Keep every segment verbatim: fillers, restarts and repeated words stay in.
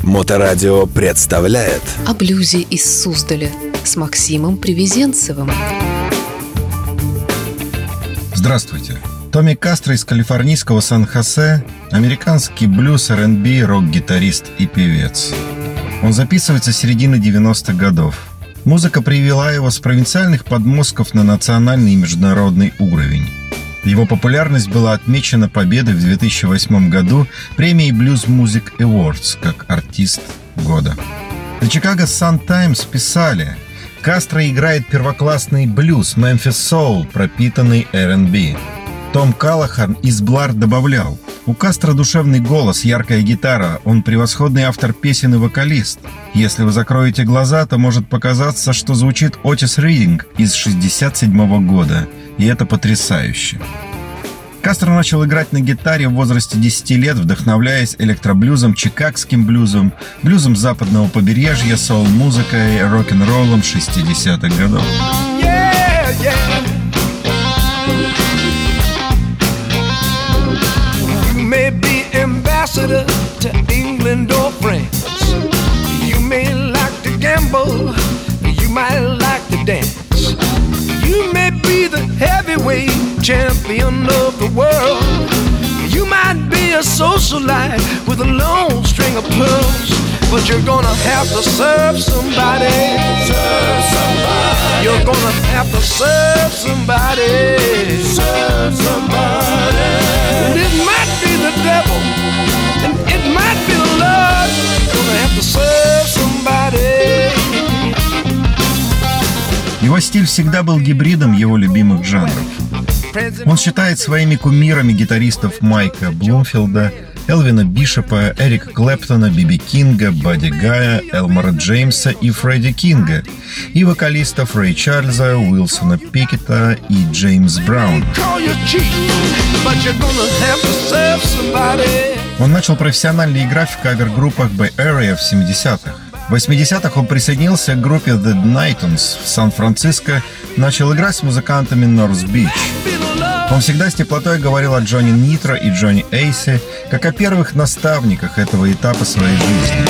Моторадио представляет О блюзе из Суздаля с Максимом Привезенцевым. Здравствуйте. Томми Кастро из калифорнийского Сан-Хосе, американский блюз, ар энд би, рок-гитарист и певец. Он записывается с середины девяностых годов. Музыка привела его с провинциальных подмостков на национальный и международный уровень. Его популярность была отмечена победой в две тысячи восьмом году премией Blues Music Awards как артист года. The Chicago Sun-Times писали: Кастро играет первоклассный блюз, Memphis Soul, пропитанный ар энд би. Том Каллахан из Блар добавлял: у Кастро душевный голос, яркая гитара, он превосходный автор песен и вокалист. Если вы закроете глаза, то может показаться, что звучит Отис Ридинг из шестьдесят седьмого года, и это потрясающе. Кастро начал играть на гитаре в возрасте десяти лет, вдохновляясь электроблюзом, чикагским блюзом, блюзом западного побережья, соул-музыкой, рок-н-роллом шестидесятых годов. Yeah, yeah. You may be ambassador to England or France. You may like to gamble, you might like to dance. You may be the heavyweight champion of the world. You might be a socialite with a long string of pearls. But you're gonna have to serve somebody. Serve somebody. You're gonna have to serve somebody. Serve somebody. And it might be the devil, and it might be the Lord. You're gonna have to serve somebody. Его стиль всегда был гибридом его любимых жанров. Он считает своими кумирами гитаристов Майка Блумфилда, Элвина Бишопа, Эрика Клэптона, Биби Кинга, Бадди Гая, Элмора Джеймса и Фредди Кинга, и вокалистов Рэй Чарльза, Уилсона Пикета и Джеймс Браун. Он начал профессионально играть в кавер-группах Bay Area в семидесятых. В восьмидесятых он присоединился к группе The Nightons в Сан-Франциско, начал играть с музыкантами North Beach. Он всегда с теплотой говорил о Джонни Нитро и Джонни Эйсе, как о первых наставниках этого этапа своей жизни.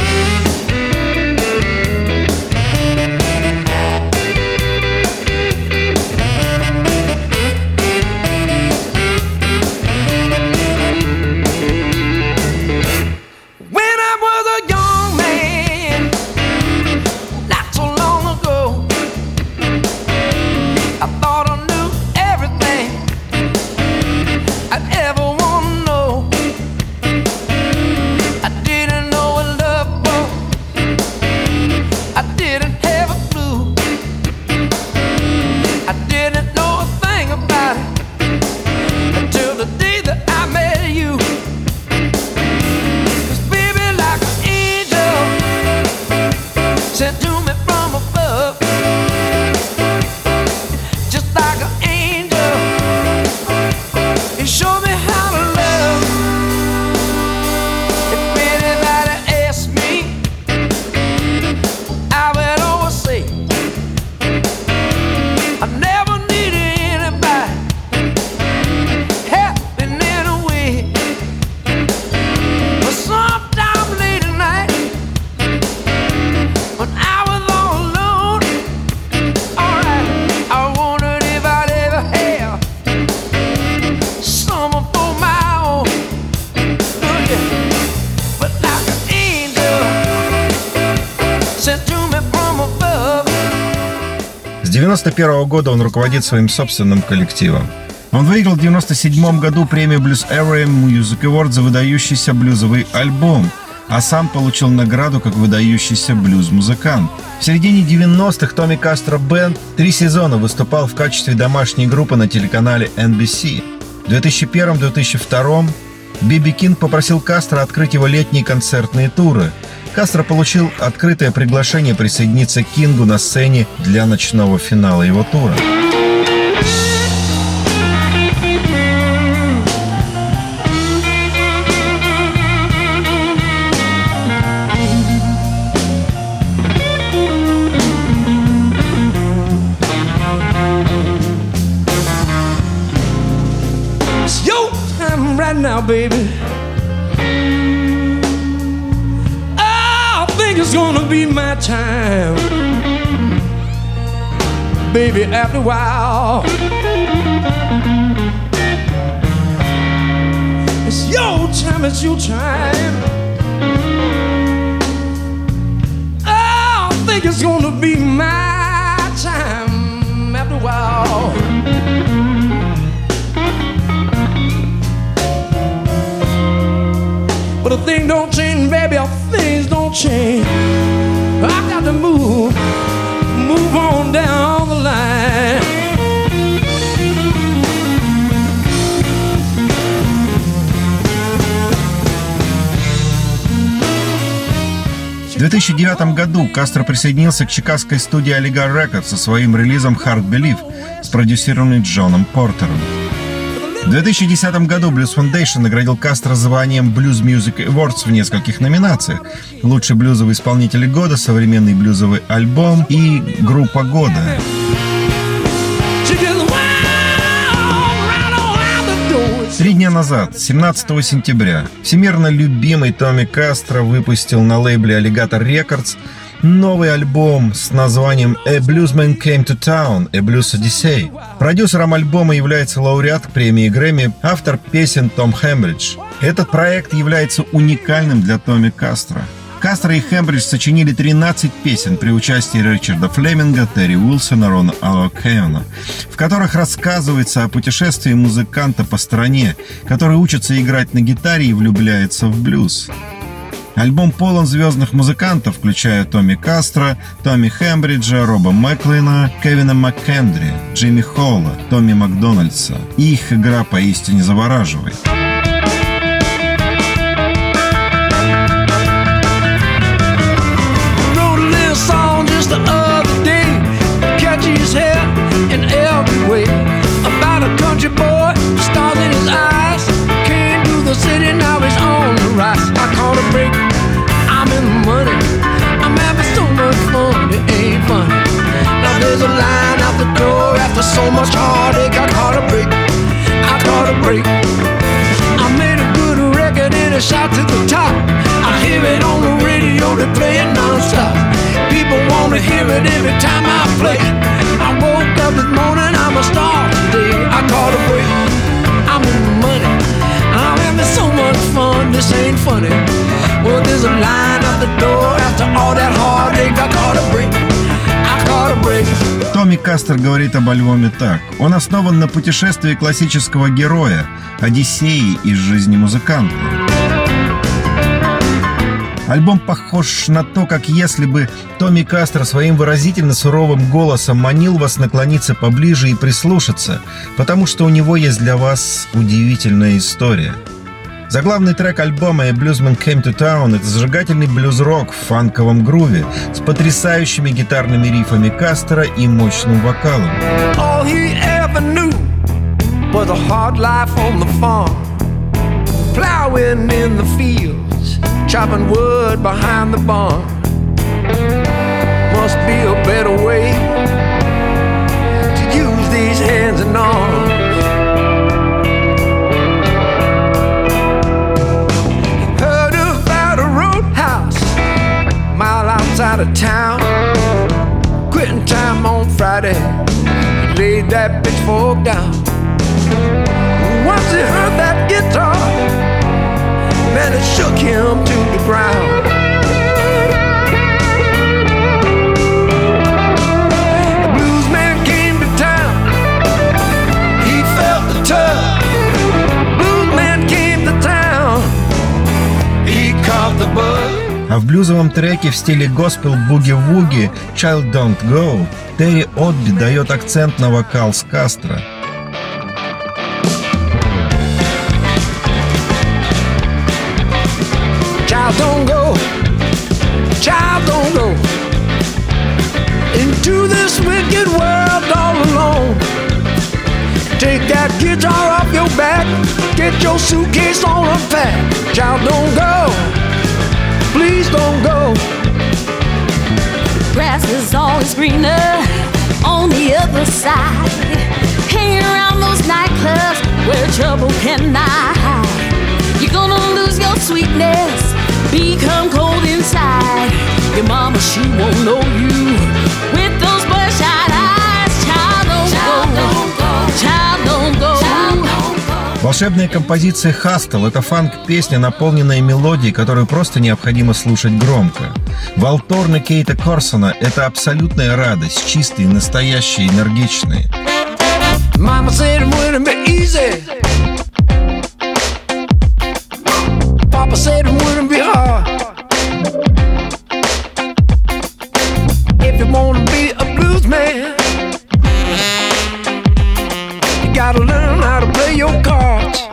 С девяносто первого года он руководит своим собственным коллективом. Он выиграл в девяносто седьмом году премию Blues Area Music Award за выдающийся блюзовый альбом, а сам получил награду как выдающийся блюз-музыкант. В середине девяностых Томми Кастро Бэнд три сезона выступал в качестве домашней группы на телеканале эн би си. В две тысячи первом — две тысячи втором Биби Кинг попросил Кастро открыть его летние концертные туры. Кастро получил открытое приглашение присоединиться к Кингу на сцене для ночного финала его тура. It's your time right now, baby. it's gonna be my time, baby, after a while. It's your time, it's your time. Oh, I think it's gonna be my time after a while. But the thing don't change, baby, things don't change. I got to move, move on down the line. В две тысячи девятом году Кастро присоединился к чикагской студии Alligator Records со своим релизом Hard Believe, спродюсированный Джоном Портером. В две тысячи десятом году Blues Foundation наградил Кастро званием Blues Music Awards в нескольких номинациях: лучший блюзовый исполнитель года, современный блюзовый альбом и группа года. Три дня назад, семнадцатого сентября, всемирно любимый Томми Кастро выпустил на лейбле Alligator Records новый альбом с названием «A Bluesman Came to Town, A Blues Odyssey». Продюсером альбома является лауреат премии Грэмми, автор песен Том Хембридж. Этот проект является уникальным для Томми Кастро. Кастро и Хембридж сочинили тринадцать песен при участии Ричарда Флеминга, Терри Уилсона, Рона О'Кеона, в которых рассказывается о путешествии музыканта по стране, который учится играть на гитаре и влюбляется в блюз. Альбом полон звездных музыкантов, включая Томми Кастро, Томми Хембриджа, Роба Мэклина, Кевина МакКендри, Джимми Холла, Томми Макдональдса. Их игра поистине завораживает. There's a line out the door after so much heartache. I caught a break, I caught a break. I made a good record and a shot to the top. I hear it on the radio, they play it non-stop. People wanna hear it every time I play. I woke up this morning, I'm a star today. I caught a break, I'm in the money. I'm having so much fun, this ain't funny. Well, there's a line out the door after all that heartache. I caught a break. Томми Кастро говорит об альбоме так. Он основан на путешествии классического героя, Одиссеи из жизни музыканта. Альбом похож на то, как если бы Томми Кастро своим выразительно суровым голосом манил вас наклониться поближе и прислушаться, потому что у него есть для вас удивительная история. Заглавный трек альбома «A Bluesman Came to Town» — это зажигательный блюз-рок в фанковом груве с потрясающими гитарными рифами Кастро и мощным вокалом. All he ever knew was a hard life on the farm, plowing in the fields, chopping wood behind the barn. Must be a better way to use these hands and arms. Out of town, quitting time on Friday, laid that pitchfork down. Once he heard that guitar, man, it shook him to the ground. The blues man came to town, he felt the tug. Blues man came to town, he caught the bug. А в блюзовом треке в стиле госпел буги-вуги «Child Don't Go» Терри Отби дает акцент на вокал с Кастро. Child don't go, child don't go into this wicked world all alone. Take that guitar off your back, get your suitcase on unpacked. Child don't go, please don't go. Grass is always greener on the other side. Hang around those nightclubs where trouble cannot hide. You're gonna lose your sweetness, become cold inside. Your mama, she won't know you with those bloodshot eyes. Child, don't go. Child, don't go. Волшебная композиция «Hustle» — это фанк-песня, наполненная мелодией, которую просто необходимо слушать громко. Волторны Кейта Корсона — это абсолютная радость, чистые, настоящие, энергичные. Mama said it wouldn't be easy. Papa said it wouldn't be hard. If you wanna be a blues man, you gotta learn how to play your cards.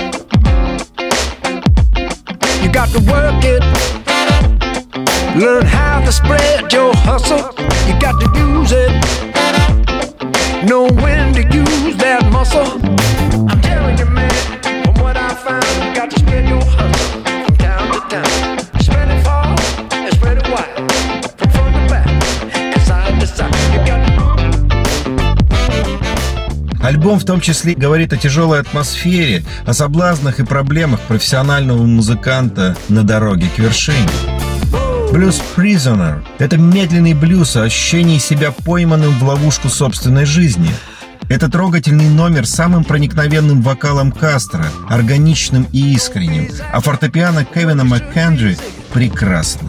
You got to work it, learn how to spread your hustle. You got to use it, know when to use that muscle. I'm telling you, man, from what I found, you got to spread your hustle from town to town. Spread it far and spread it wide, from front to back and side to side. You got to... Альбом в том числе говорит о тяжелой атмосфере, о соблазнах и проблемах профессионального музыканта на дороге к вершине. Blues Prisoner — это медленный блюз о ощущении себя пойманным в ловушку собственной жизни. Это трогательный номер с самым проникновенным вокалом Кастро, органичным и искренним, а фортепиано Кевина МакКенджи прекрасно.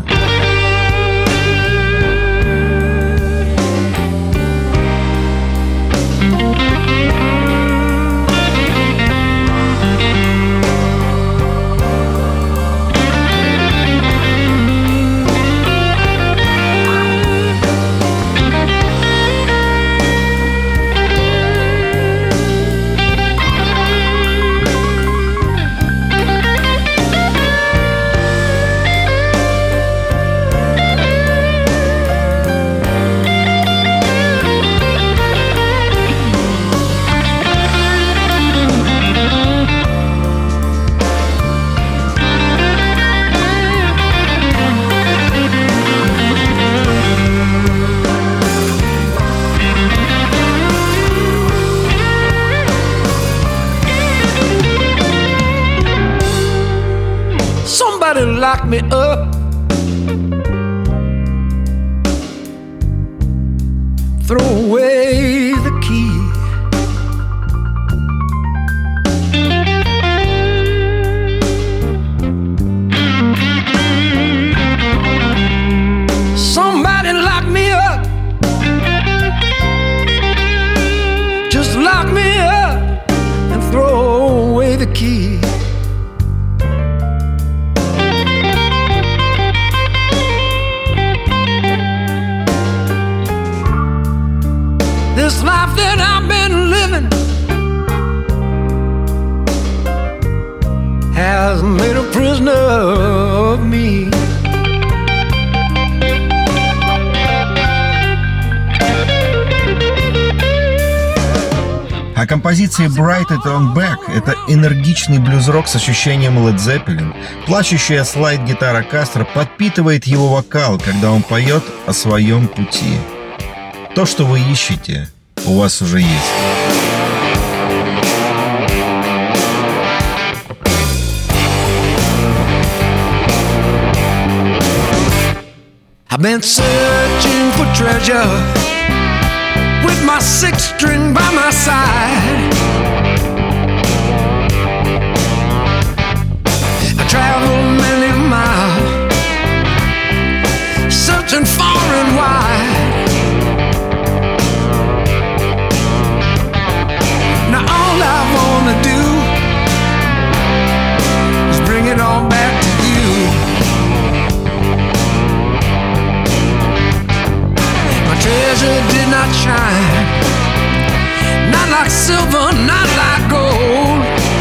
Somebody lock me up, throw away the key. Somebody lock me up, just lock me up and throw away the key. This life that I've been living has made a prisoner of me. А композиция Bright It On Back — это энергичный блюз-рок с ощущением Led Zeppelin. Плачущая слайд-гитара Кастро подпитывает его вокал, когда он поет о своем пути. То, что вы ищете, у вас уже есть. I've been searching for treasure with my six string by my side. I traveled many miles, searching far and wide. Now all I wanna do is bring it all back to you. My treasure did not shine, not like silver, not like gold.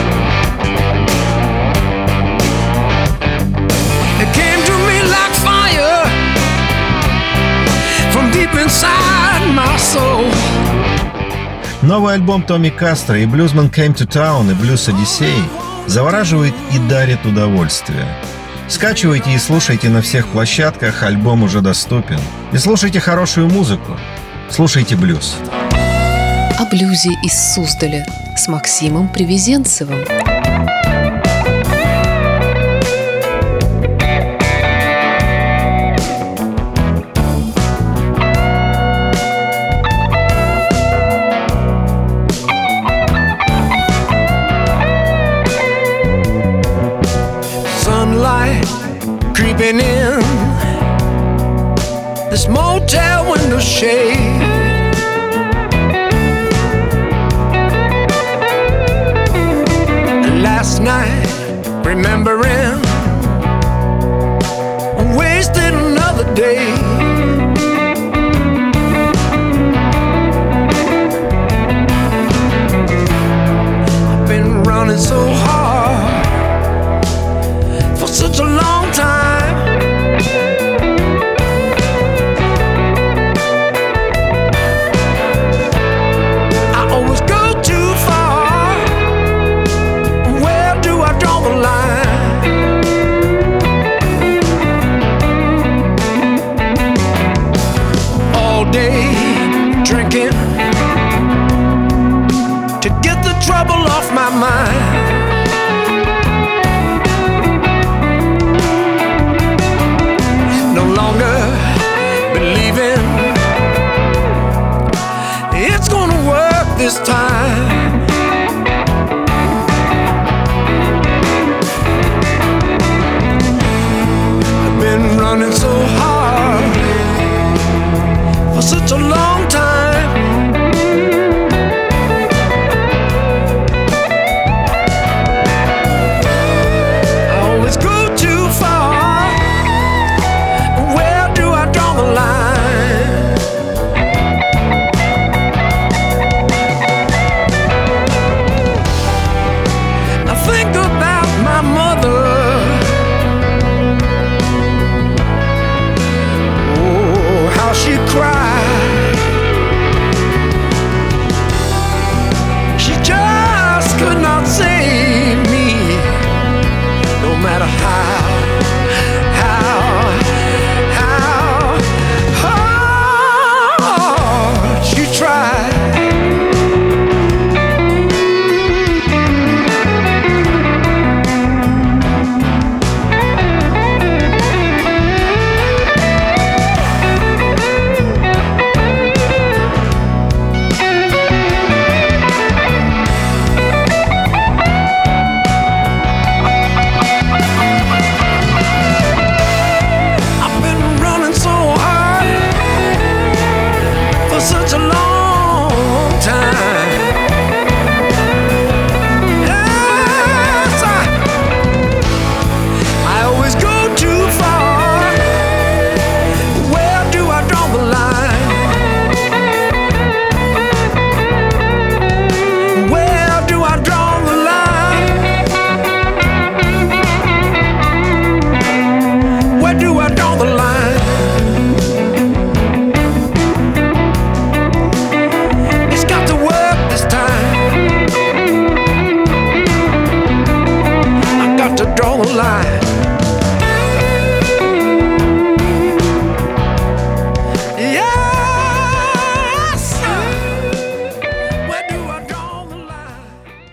It came to me like fire from deep inside my soul. Новый альбом Томми Кастро и «Bluesman Came to Town» и «Blues Odyssey» завораживает и дарит удовольствие. Скачивайте и слушайте на всех площадках, альбом уже доступен. И слушайте хорошую музыку. Слушайте блюз. О блюзе из Суздаля с Максимом Привезенцевым. light creeping in this motel window shade. And last night, remembering, I wasted another day. I've been running so hard for such a long time.